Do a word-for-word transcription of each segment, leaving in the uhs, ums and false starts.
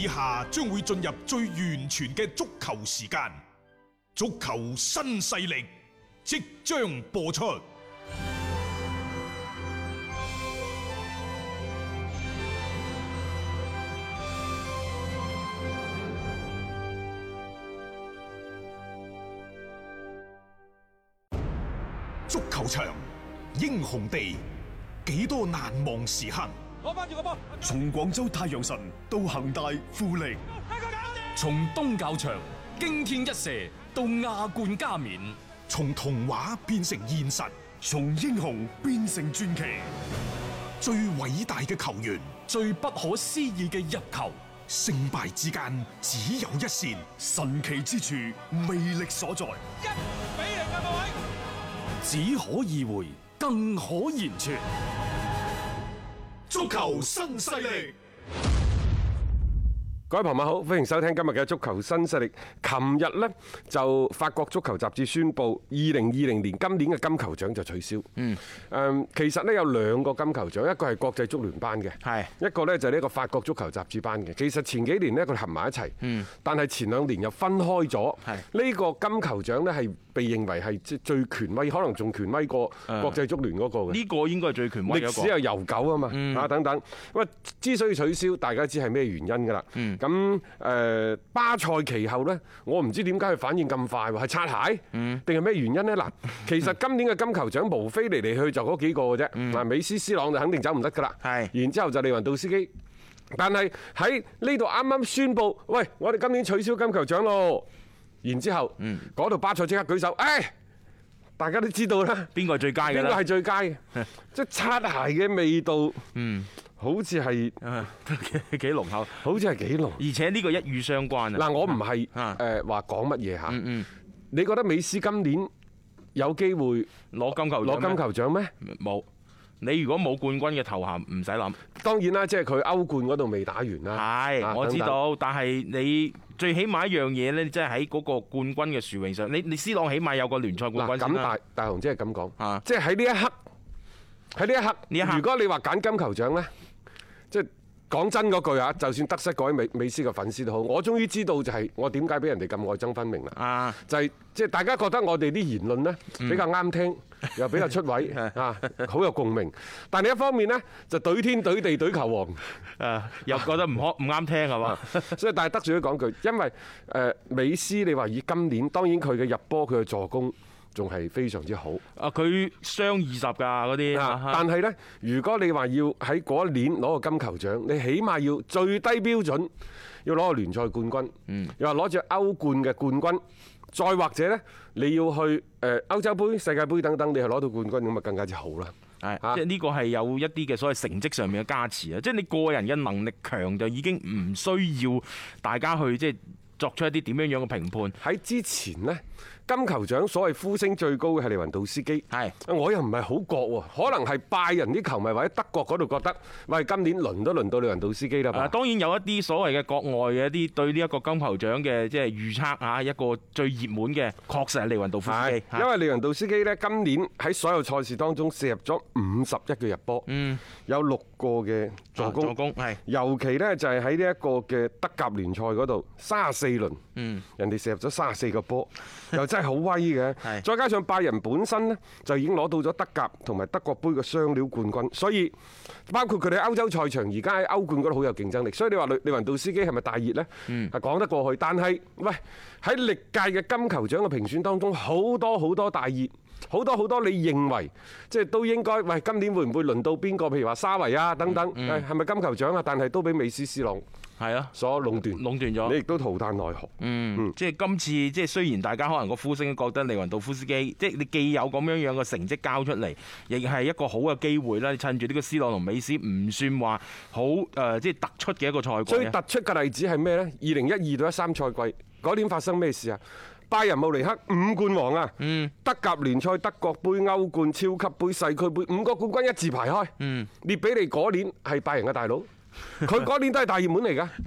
以下將會進入最完全嘅足球時間，足球新勢力即將播出。足球場，英雄地，幾多難忘時刻。 攞翻住個波， 從廣州太陽神到恒大富力， 從東較場驚天一射到亞冠加冕， 從童話變成現實， 從英雄變成傳奇。 最偉大嘅球員， 最不可思議嘅入球， 勝敗之間只有一線， 神奇之處魅力所在。 一比零嘅各位， 只可意會，更可言傳。 足球新勢力， 各位朋友好，歡迎收聽今日嘅足球新勢力。琴日呢，就法國足球雜誌宣布，二零二零年今年嘅金球獎就取消。嗯，誒，其實呢，有兩個金球獎，一個係國際足聯頒嘅，係一個呢就係呢個法國足球雜誌頒嘅。其實前幾年呢，佢哋合埋一齊，嗯，但係前兩年又分開咗。係呢個金球獎呢，係被認為係即最權威，可能仲權威過國際足聯嗰個嘅。 呢個應該係最權威嘅一個。 歷史又悠久啊嘛，啊、嗯、等等。咁啊，之所以取消，大家知係咩原因㗎啦。嗯。咁誒、呃、巴塞其後呢，我唔知點解佢反應咁快喎，係擦鞋，定係咩原因呢？嗱，其實今年嘅金球獎無非嚟嚟去去就嗰幾個嘅啫。嗱、嗯，美斯、C 朗就肯定走唔得㗎啦。係。然之後就利雲道斯基，但係喺呢度啱啱宣布，喂，我哋今年取消金球獎咯。然之後，嗰度巴塞即刻舉手，誒、哎，大家都知道啦， 邊個係最佳嘅？邊個係最佳嘅？即係擦鞋嘅味道，嗯，好似係幾幾濃厚， 好似係幾濃。 而且呢個一語相關啊！ 嗱，我唔係誒話講乜嘢嚇，你覺得美斯今年有機會攞金球攞金球獎咩？ 冇。你如果冇冠軍嘅頭銜，唔使諗。 當然啦，即係佢歐冠嗰度未打完啦。 係，我知道。但係你最起碼一樣嘢咧，即係喺嗰個冠軍嘅殊榮上，你你 C 朗起碼有個聯賽冠軍先啦。 咁大大雄即係咁講，即係喺呢一刻，喺呢一刻， 呢一刻， 如果你話揀金球獎咧，即係講真嗰句啊，就算得失嗰位美美斯嘅粉絲都好，我終於知道就係我點解俾人哋咁愛憎分明啦。啊，就係即係大家覺得我哋啲言論咧比較啱聽。又比較出位啊，好有共鳴。但係一方面呢，就懟天懟地懟球王， 誒又覺得唔可唔啱聽係嘛？ 所以但係得罪都講句，因為誒美斯你話以今年，當然佢嘅入波佢嘅助攻仲係非常之好。 啊，佢雙二十㗎嗰啲。 但係呢，如果你話要喺嗰一年攞個金球獎，你起碼要最低標準要攞個聯賽冠軍，嗯、又話攞住歐冠嘅冠軍。再或者呢，你要去誒歐洲杯、世界盃等等，你係攞到冠軍咁啊，更加之好啦。 係，即係呢個係有一啲嘅所謂成績上面嘅加持啊！即係你個人嘅能力強，就已經唔需要大家去即係作出一啲點樣樣嘅評判。 喺之前呢，金球獎所謂呼聲最高嘅係利雲道斯基，係我又唔係好覺喎，可能係拜仁啲球迷或者德國嗰度覺得，喂，今年輪都輪到利雲道斯基啦。 當然有一啲所謂嘅國外嘅一啲對呢一個金球獎嘅即係預測啊，一個最熱門嘅確實係利雲道夫斯基， 因為利雲道斯基呢，今年喺所有賽事當中射入咗五十一個入波，嗯，有六個嘅助攻，助攻係，尤其呢，就係喺呢一個嘅德甲聯賽嗰度，三十四輪，嗯，人哋射入咗三十四個波，又真係好威嘅。再加上拜仁本身呢，就已經攞到咗德甲同埋德國杯嘅雙料冠軍，所以包括佢哋歐洲賽場而家喺歐冠嗰度好有競爭力。所以你話利利雲道斯基係咪大熱呢？係講得過去。但係喂，喺歷屆嘅金球獎嘅評選當中，好多好多大熱，好多好多你認為即係都應該，喂，今年會唔會輪到邊個？譬如話沙維啊等等，係咪金球獎啊？但係都俾美斯、C 朗係啊所壟斷， 壟斷咗。 你亦都淘汰奈何。嗯， 嗯即係今次即係雖然大家可能個呼聲都覺得利雲道夫斯基，即係你既有咁樣樣嘅成績交出嚟，亦係一個好嘅機會啦。你趁住呢個 C 朗同美斯唔算話好誒，即係突出嘅一個賽季。 最突出嘅例子係咩呢？二零一二到一三賽季嗰年發生咩事啊？拜仁慕尼黑五冠王啊！嗯、德甲聯賽、德國杯、歐冠、超級杯、世俱杯五個冠軍一字排開。嗯、列比尼嗰年係拜仁嘅大佬。佢嗰年都係大熱門嚟㗎，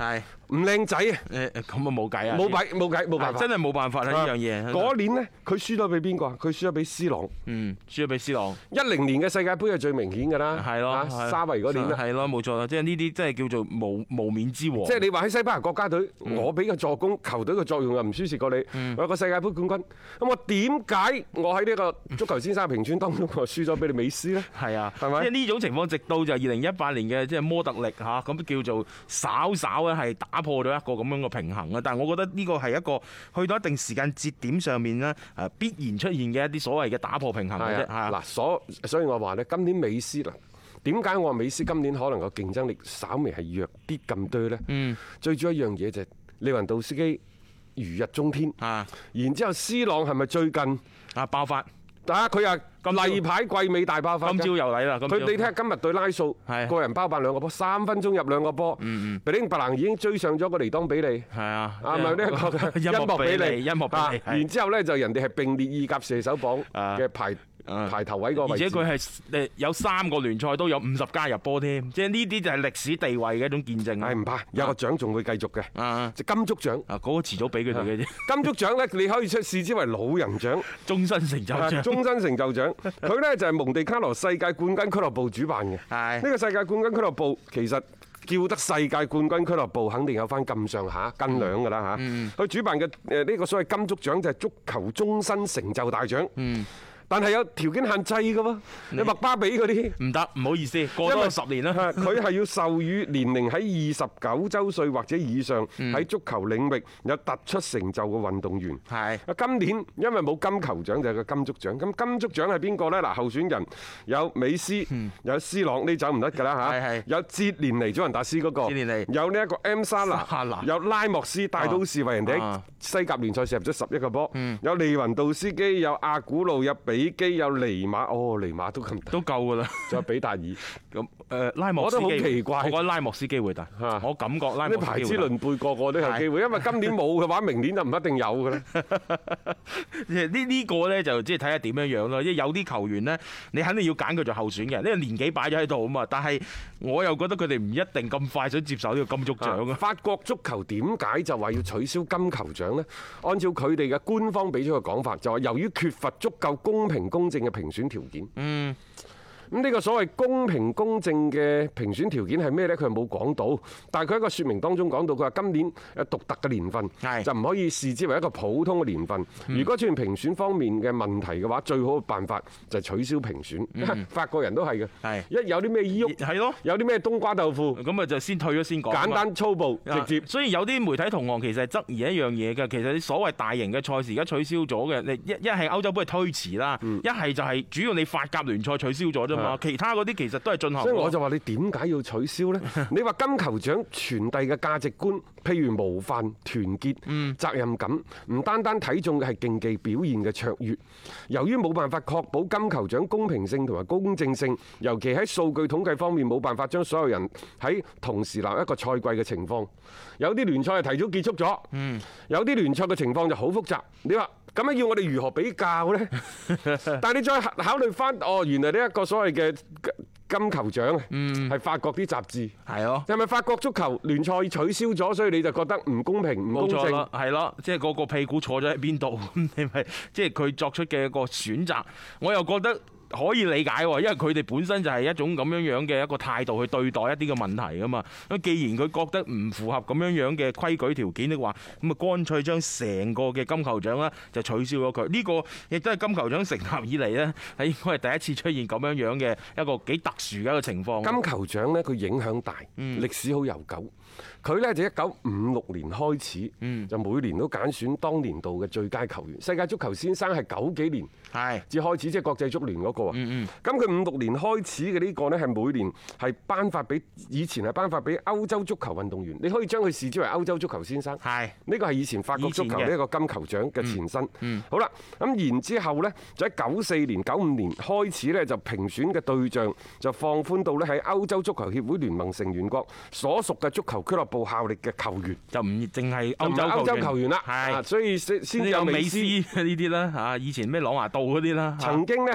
唔靚仔啊！ 誒咁啊冇計啊！ 冇計冇計冇辦法， 真係冇辦法啦呢樣嘢。 嗰年呢，佢輸咗俾邊個啊？佢輸咗俾 C 朗。 嗯，輸咗俾 C 朗。 一零年嘅世界盃係最明顯㗎啦。 係咯， 沙維嗰年啦。 係咯，冇錯啦，即係呢啲真係叫做無無冕之王。 即係你話喺西班牙國家隊，我俾個助攻，球隊嘅作用又唔輸蝕過你。我有個世界盃冠軍，咁我點解我喺呢個足球先生評選當中我輸咗俾你美斯呢？ 係啊， 係咪？ 即係呢種情況，直到就二零一八年嘅即係摩特力嚇，咁叫做稍稍咧係打破咗一個咁樣嘅平衡啊！但係我覺得呢個係一個去到一定時間節點上面咧，誒必然出現嘅一啲所謂嘅打破平衡嘅啫。 嗱，所所以我話咧，今年美斯嗱，點解我話美斯今年可能個競爭力稍微係弱啲咁多咧？嗯，最主要一樣嘢就係利雲道斯基如日中天啊，然之後 C 朗係咪最近啊爆發？ 啊，佢又例牌季尾大爆發， 今朝又嚟啦！ 佢你睇下今日對拉素，個人包辦兩個波，三分鐘入兩個波。嗯嗯，比丁白蘭已經追上咗個尼當比利。係啊，啊咪呢一個音樂比利，音樂比利。然之後咧就人哋係並列意甲射手榜嘅排排頭位個位置。 而且佢係誒有三個聯賽都有五十加入波添，即係呢啲就係歷史地位嘅一種見證。 係唔怕，有個獎仲會繼續嘅。啊，即金足獎。啊， 嗰個遲早俾佢哋嘅啫。金足獎咧，你可以出視之為老人獎、 終身成就獎、 終身成就獎。佢咧就係蒙地卡羅世界冠軍俱樂部主辦嘅。係。呢個世界冠軍俱樂部其實叫得世界冠軍俱樂部，肯定有翻咁上下斤兩㗎啦嚇。佢主辦嘅誒呢個所謂金足獎就係足球終身成就大獎。嗯。但係有條件限制嘅喎，你麥巴比嗰啲唔得，唔好意思，過多十年啦。 佢係要授予年齡喺二十九週歲或者以上喺足球領域有突出成就嘅運動員。係。今年因為冇金球獎就係個金足獎。咁金足獎係邊個呢？嗱，候選人有美斯，有 C 朗，呢走唔得㗎啦嚇。有哲連尼、祖雲達斯嗰個，有呢一個 M 沙拿，有拉莫斯帶到士為人哋喺西甲聯賽射入咗十一個波。有利雲道斯基，有阿古路，有比基，有尼馬，哦，尼馬都咁都夠㗎啦， 仲有比達爾咁誒拉莫斯基，我覺得好奇怪，我覺得拉莫斯機會大，我感覺拉莫斯機會大。啲排資論輩個個都有機會，因為今年冇嘅話，明年就唔一定有㗎啦。呢呢個咧就即係睇下點樣樣咯，因為有啲球員呢，你肯定要揀佢做候選嘅，呢個年紀擺咗喺度啊嘛。但係我又覺得佢哋唔一定咁快想接受呢個金足獎啊。 法國足球點解就話要取消金球獎呢？按照佢哋嘅官方俾咗個講法，就話由於缺乏足夠公平公正嘅評選條件。嗯。咁呢個所謂公平公正嘅評選條件係咩呢？佢係冇講到，但係佢喺個説明當中講到，佢話今年有獨特嘅年份，就唔可以視之為一個普通嘅年份。如果出現評選方面嘅問題嘅話，最好嘅辦法就係取消評選。嗯、法國人都係嘅，一有啲咩依鬱，係咯，有啲咩冬瓜豆腐， 咁啊就先退咗先講。 簡單粗暴直接。 所以有啲媒體同行其實係質疑一樣嘢嘅，其實你所謂大型嘅賽事而家取消咗嘅，你一一係歐洲杯係推遲啦，一係就係主要你法甲聯賽取消咗啫嘛。其他嗰啲其實都係進行。 所以我就話你點解要取消呢？你話金球獎傳遞嘅價值觀，譬如模範、團結、責任感，唔單單睇重嘅係競技表現嘅卓越。由於冇辦法確保金球獎公平性同埋公正性，尤其喺數據統計方面冇辦法將所有人喺同時立一個賽季嘅情況，有啲聯賽係提早結束咗，有啲聯賽嘅情況就好複雜。你話咁樣要我哋如何比較呢？但係你再考慮翻，哦，原來呢一個所謂嘅金球獎係法國啲雜誌，係咯，係咪法國足球聯賽取消咗，所以你就覺得唔公平、唔公正？冇錯啦， 係咯，即係個個屁股坐咗喺邊度，咁你咪即係佢作出嘅一個選擇，我又覺得可以理解喎，因為佢哋本身就係一種咁樣樣嘅一個態度去對待一啲嘅問題噶嘛。咁既然佢覺得唔符合咁樣樣嘅規矩條件的話，咁啊乾脆將成個嘅金球獎咧就取消咗佢。呢個亦都係金球獎成立以嚟咧係應該係第一次出現咁樣樣嘅一個幾特殊嘅一個情況。 金球獎咧佢影響大，歷史好悠久。佢呢就一九五六年開始，嗯、就每年都揀選當年度嘅最佳球員。世界足球先生係九幾年至開始，即係國際足聯嗰個啊。咁佢五六年開始嘅呢個呢，係每年係頒發俾以前係頒發俾歐洲足球運動員。你可以將佢視之為歐洲足球先生。係呢個係以前法國足球呢一個金球獎嘅前身。嗯嗯、好啦，咁然之後呢，就喺九四年、九五年開始呢，就評選嘅對象就放寬到呢喺歐洲足球協會聯盟成員國所屬嘅足球俱樂部效力嘅球員， 就唔淨係歐洲歐洲球員啦，係，所以先先有美斯呢啲啦嚇，以前咩朗拿度嗰啲啦。 曾經咧喺一零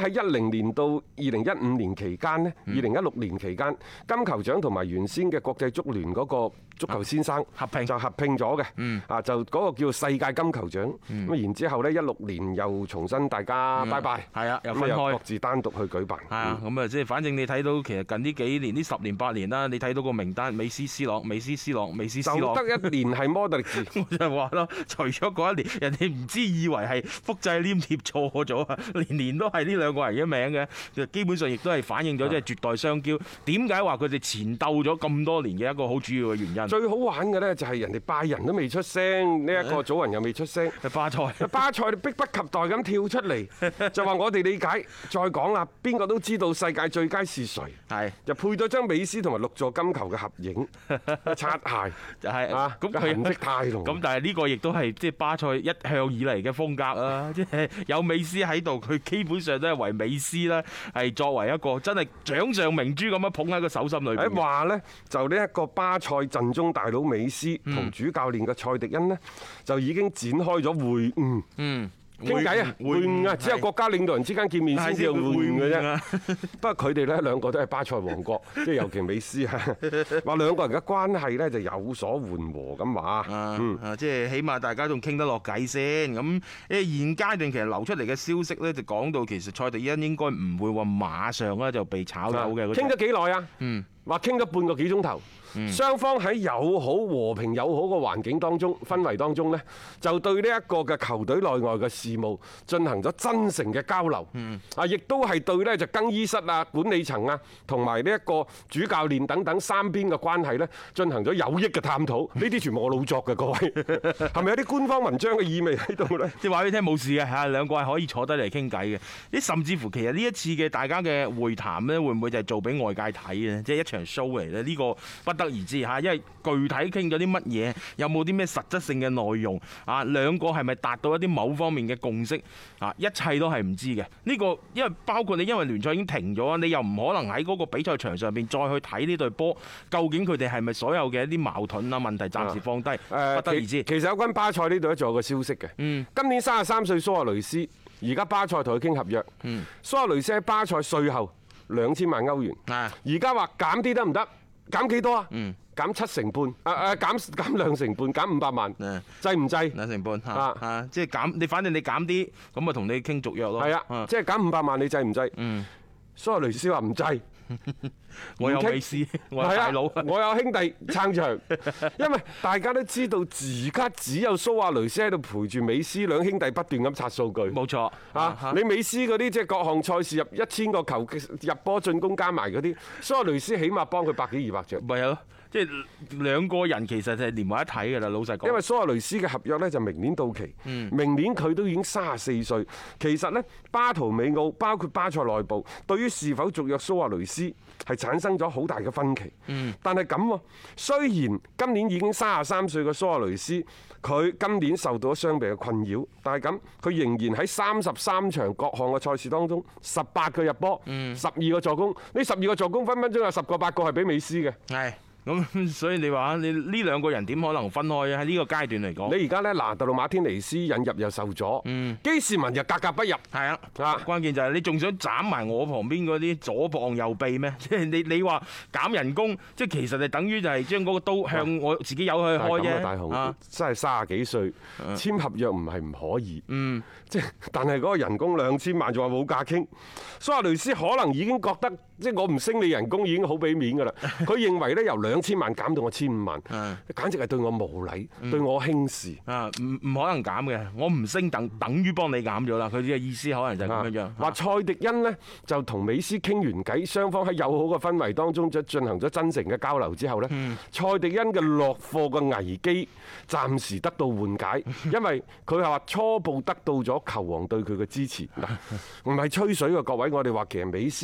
零年到二零一五年期間呢，二零一六年期間金球獎同埋原先嘅國際足聯嗰個足球先生合併就合併咗嘅，啊就嗰個叫世界金球獎，咁然之後呢，一六年又重新大家拜拜， 係啊，又分咁又開各自單獨去舉辦。 係啊，咁啊即係反正你睇到其實近呢幾年呢十年八年啦，你睇到個名單，美斯、斯朗、美斯、斯朗、美斯、斯朗， 就得一年係摩特力治。 我就係話咯，除咗嗰一年，人哋唔知以為係複製黏貼錯咗啊，年年都係呢兩個人嘅名嘅，就基本上亦都係反映咗即係絕代雙驕。點解話佢哋纏鬥咗咁多年嘅一個好主要嘅原因？ 最好玩嘅呢，就係人哋拜仁都未出聲，呢一個祖雲又未出聲， 巴塞， 巴塞迫不及待咁跳出嚟，就話我哋理解。再講啦，邊個都知道世界最佳是誰， 係就配咗張美斯同埋六座金球嘅合影，擦鞋就係啊， 咁個痕跡太濃。 咁但係呢個亦都係即係巴塞一向以嚟嘅風格啊！即係有美斯喺度，佢基本上都係為美斯啦，係作為一個真係掌上明珠咁樣捧喺個手心裏邊。 誒話呢，就呢一個巴塞陣中大佬美斯同主教練嘅蔡迪恩呢，就已經展開咗會晤。嗯。傾偈啊，會晤啊，只有國家領導人之間見面先至有會晤嘅啫。不過佢哋咧兩個都係巴塞王國，即係尤其美斯啊，話兩個人嘅關係咧就有所緩和咁話。嗯， 啊，即係起碼大家仲傾得落偈先。咁誒現階段其實流出嚟嘅消息咧，就講到其實蔡迪恩應該唔會話馬上咧就被炒走嘅。 傾咗幾耐啊？嗯，話傾咗半個幾鐘頭。雙方喺友好和平友好嘅環境當中氛圍當中呢，就對呢一個嘅球隊內外嘅事務進行咗真誠嘅交流。啊，亦都係對呢就更衣室啊、管理層啊同埋呢一個主教練等等三邊嘅關係呢進行咗有益嘅探討。呢啲全部我老作嘅，各位係咪有啲官方文章嘅意味喺度呢？ 即係話俾你聽冇事嘅嚇，兩個係可以坐低嚟傾偈嘅。啲甚至乎其實呢一次嘅大家嘅會談呢，會唔會就係做俾外界睇嘅？即係一場 show 嚟咧？呢個不得而知嚇，因為具體傾咗啲乜嘢，有冇啲咩實質性嘅內容啊？兩個係咪達到一啲某方面嘅共識啊？一切都係唔知嘅。呢個因為包括你，因為聯賽已經停咗，你又唔可能喺嗰個比賽場上邊再去睇呢隊波，究竟佢哋係咪所有嘅一啲矛盾啊問題暫時放低？啊、不得而知。其實有關巴塞呢度咧，仲有個消息嘅。嗯。今年三十三歲蘇亞雷斯，而家巴塞同佢傾合約。嗯。蘇亞雷斯喺巴塞稅後兩千萬歐元。啊。而家話減啲得唔得？減幾多啊？嗯，減七成半，啊啊減減兩成半，減五百萬，制唔制？ 兩成半啊啊！即係減，你反正你減啲，咁啊同你傾續約咯。 係啊，即係減五百萬，你制唔制？嗯，蘇亞雷斯話唔制。 我有美斯，我有大佬， 我有兄弟撐場，因為大家都知道而家只有蘇亞雷斯喺度陪住美斯，兩兄弟不斷咁刷數據。 冇錯啊！你美斯嗰啲即係各項賽事入一千個球入波進攻加埋嗰啲，蘇亞雷斯起碼幫佢百幾二百隻。 咪係咯。即係兩個人其實係連埋一體㗎啦，老實講。 因為蘇亞雷斯嘅合約呢就明年到期，明年佢都已經三十四歲。其實呢，巴圖美奧包括巴塞內部對於是否續約蘇亞雷斯係產生咗好大嘅分歧。但係咁喎，雖然今年已經三十三歲嘅蘇亞雷斯，佢今年受到咗傷病嘅困擾，但係咁佢仍然喺三十三場各項嘅賽事當中，十八個入波，十二個助攻。呢十二個助攻分分鐘有十個八個係俾美斯嘅。 係。咁所以你話你呢兩個人點可能分開啊？喺呢個階段嚟講， 你而家咧拿特魯馬天尼斯引入又受阻，嗯，基士文又格格不入， 係啊，啊，關鍵就係你仲想斬埋我旁邊嗰啲左膀右臂咩？即係你你話減人工，即係其實就等於就係將嗰個刀向我自己有去開啫。 大雄真係三十幾歲，簽合約唔係唔可以，嗯，即係但係嗰個人工兩千萬仲話冇價傾，蘇亞雷斯可能已經覺得即係我唔升你人工已經好俾面㗎啦，佢認為咧由兩千萬減到我千五萬，簡直係對我無禮，嗯、對我輕視。啊， 唔唔可能減嘅，我唔升等等於幫你減咗啦。佢嘅意思可能就係咁樣樣。 話蔡迪恩呢，就同美斯傾完偈，雙方喺友好嘅氛圍當中，就進行咗真誠嘅交流之後呢，嗯、蔡迪恩嘅落課嘅危機暫時得到緩解，因為佢係話初步得到咗球王對佢嘅支持。嗱，唔係吹水嘅各位，我哋話其實美斯喺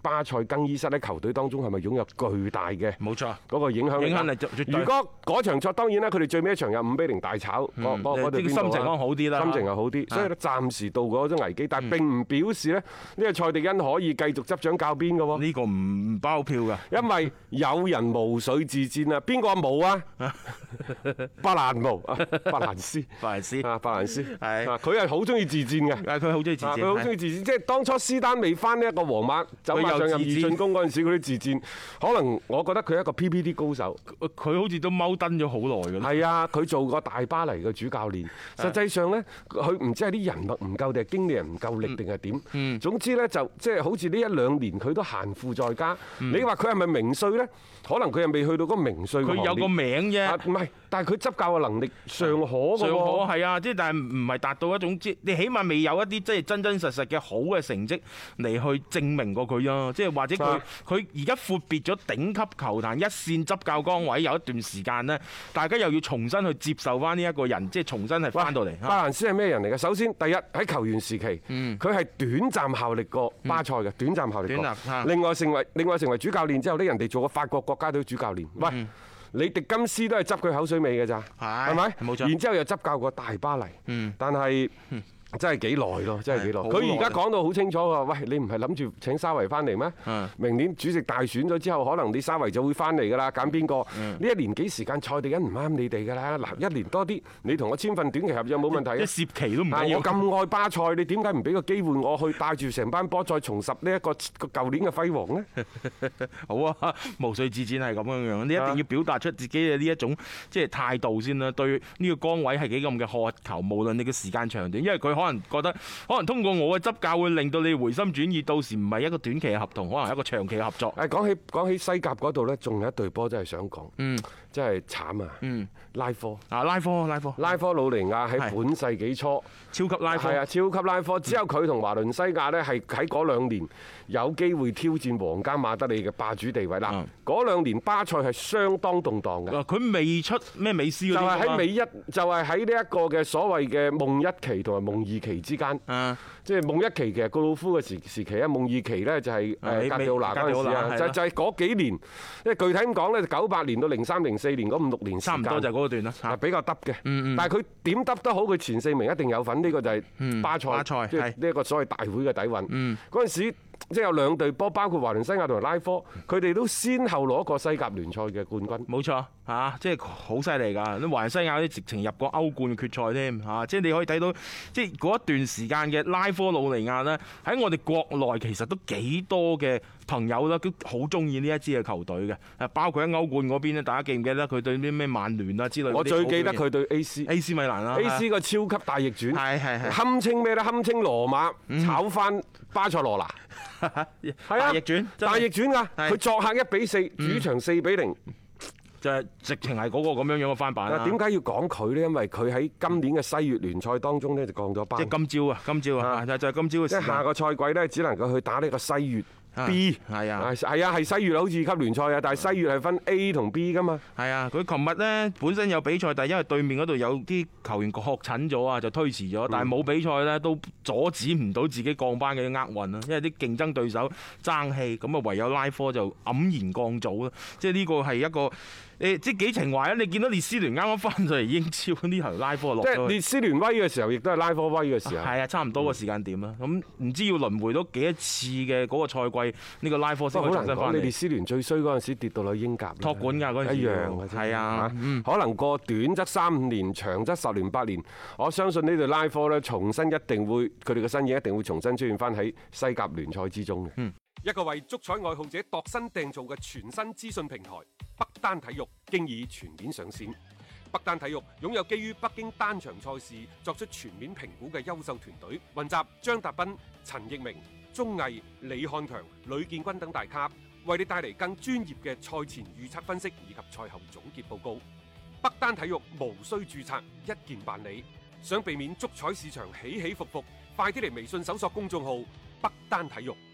巴塞更衣室喺球隊當中係咪擁有巨大嘅冇錯嗰個影響力？ 影響力絕對。 如果嗰場賽當然啦，佢哋最尾一場有五比零大炒，嗰嗰嗰隊邊度啊？ 心情可能好啲啦， 心情係好啲，所以咧暫時度過嗰種危機，但係並唔表示咧呢個蔡迪恩可以繼續執掌教鞭嘅喎。 呢個唔包票㗎， 因為有人無水自戰啊！邊個冇啊？巴蘭無啊，巴蘭斯， 巴蘭斯啊，巴蘭斯係啊，佢係好中意自戰嘅。 佢好中意自戰， 佢好中意自戰。即係當初斯丹未翻呢一個皇馬走馬上任二進攻嗰陣時，嗰啲自戰，可能我覺得佢係一個 P P D 高手。 佢好似都踎蹲咗好耐㗎啦。 係啊，佢做過大巴黎嘅主教練。實際上咧，佢唔知係啲人脈唔夠定係經理人唔夠力定係點。嗯。總之咧就即係好似呢一兩年佢都閒賦在家。嗯、你話佢係咪名帥咧？可能佢又未去到嗰個名帥嘅行列。佢有個名啫。 唔係，但係佢執教嘅能力尚可㗎喎。尚可係啊，即係但係唔係達到一種即你起碼未有一啲即係真真實實嘅好嘅成績嚟去證明過佢啊！即係或者佢佢而家闊別咗頂級球壇一線執教崗位有一段時間呢，大家又要重新去接受翻呢一個人，即係重新係翻到嚟。 巴蘭斯係咩人嚟嘅？首先第一喺球員時期，佢係短暫效力過巴塞嘅，短暫效力過。另外成為另外成為主教練之後呢，人哋做過法國國家隊主教練。喂，嗯、你迪金斯都係執佢口水尾嘅咋，係咪？冇錯。然之後又執教過大巴黎，嗯、但係。嗯真係幾耐咯，真係幾耐。佢而家講到好清楚喎，喂，你唔係諗住請沙維翻嚟咩？嗯、明年主席大選咗之後，可能你沙維就會翻嚟㗎啦。揀邊個？呢、嗯、一年幾時間蔡迪恩唔啱你哋㗎啦。嗱，一年多啲，你同我簽份短期合約冇問題。 一涉期都唔緊要。 我咁愛巴塞，你點解唔俾個機會我去帶住成班波再重拾呢一個個舊年嘅輝煌呢？ 好啊，無須自薦係咁樣樣，你一定要表達出自己嘅呢一種即係態度先啦。對呢個崗位係幾咁嘅渴求，無論你嘅時間長短，因為佢可能覺得。可能通過我嘅執教會令到你回心轉意，到時唔係一個短期嘅合同，可能係一個長期嘅合作。誒，講起講起西甲嗰度呢，仲有一隊波真係想講，嗯，真係慘啊，嗯，拉科啊，拉科拉科，拉科魯尼亞喺本世紀初超級拉科，係啊，超級拉科，只有佢同華倫西亞呢，係喺嗰兩年有機會挑戰皇家馬德里嘅霸主地位啦。嗰兩年巴塞係相當動盪嘅，佢未出咩美斯嗰啲，就係喺美一，就係喺呢一個嘅所謂嘅夢一期同埋夢二期之間。嗯，即係夢一期其實告魯夫嘅時時期啊，夢二期咧就係誒格迪奧拿嗰陣時啊，就就係嗰幾年，因為具體咁講咧，九八年到零三零四年嗰五六年時間，差唔多就係嗰段啦，係比較得嘅。嗯嗯。但係佢點得得好，佢前四名一定有份，呢個就係巴塞，即係呢一個所謂大會嘅底蘊。嗯。嗰陣時即係有兩隊波，包括華倫西亞同埋拉科，佢哋都先後攞過西甲聯賽嘅冠軍。冇錯嚇，即係好犀利㗎！啲華倫西亞啲直情入過歐冠嘅決賽添嚇，即係你可以睇到，即係嗰一段時間嘅拉科魯尼亞呢，喺我哋國內其實都幾多嘅朋友啦，都好中意呢一支嘅球隊嘅，誒包括喺歐冠嗰邊咧，大家記唔記得佢對啲咩曼聯啊之類？我最記得佢對 A C A C 米蘭啦，A C 個超級大逆轉，係係係，堪稱咩咧？堪稱羅馬炒翻巴塞羅那，係啊，大逆轉，大逆轉㗎！佢作客一比四，主場四比零。就係直情係嗰個咁樣樣嘅翻版啦。點解要講佢呢？因為佢喺今年嘅西乙聯賽當中呢，就降咗班。即係今朝啊！今朝啊！就係今朝嘅時間。即係下個賽季呢，只能夠去打呢個西乙 B。係啊，係啊，係西乙好似級聯賽啊，但係西乙係分 A 同 B 噶嘛。係啊，佢琴日呢本身有比賽，但係因為對面嗰度有啲球員確診咗啊，就推遲咗。但係冇比賽呢，都阻止唔到自己降班嘅厄運啊！因為啲競爭對手爭氣，咁啊唯有拉科就黯然降組啦。即係呢個係一個。誒即係幾情懷啊！你見到列斯聯啱啱翻上嚟英超呢頭拉科落咗，即係列斯聯威嘅時候，亦都係拉科威嘅時候。係啊，差唔多個時間點啦。咁唔、嗯、知要輪迴到幾多次嘅嗰個賽季，呢、這個拉科先可以重新翻嚟。你列斯聯最衰嗰陣時跌到去英甲，托管㗎嗰陣時。一樣嘅啫。係啊，嗯、可能過短則三五年，長則十年八年。我相信呢隊拉科咧，重新一定會佢哋嘅身影一定會重新出現翻喺西甲聯賽之中嘅。嗯。一個為足彩愛好者度身訂造嘅全新資訊平台北單體育，經已全面上線。北單體育擁有基於北京單場賽事作出全面評估嘅優秀團隊，雲集張達斌、陳奕明、鐘毅、李漢強、呂建軍等大咖，為你帶嚟更專業嘅賽前預測分析以及賽後總結報告。北單體育無需註冊，一鍵辦理。想避免足彩市場起起伏伏，快啲嚟微信搜索公眾號北單體育。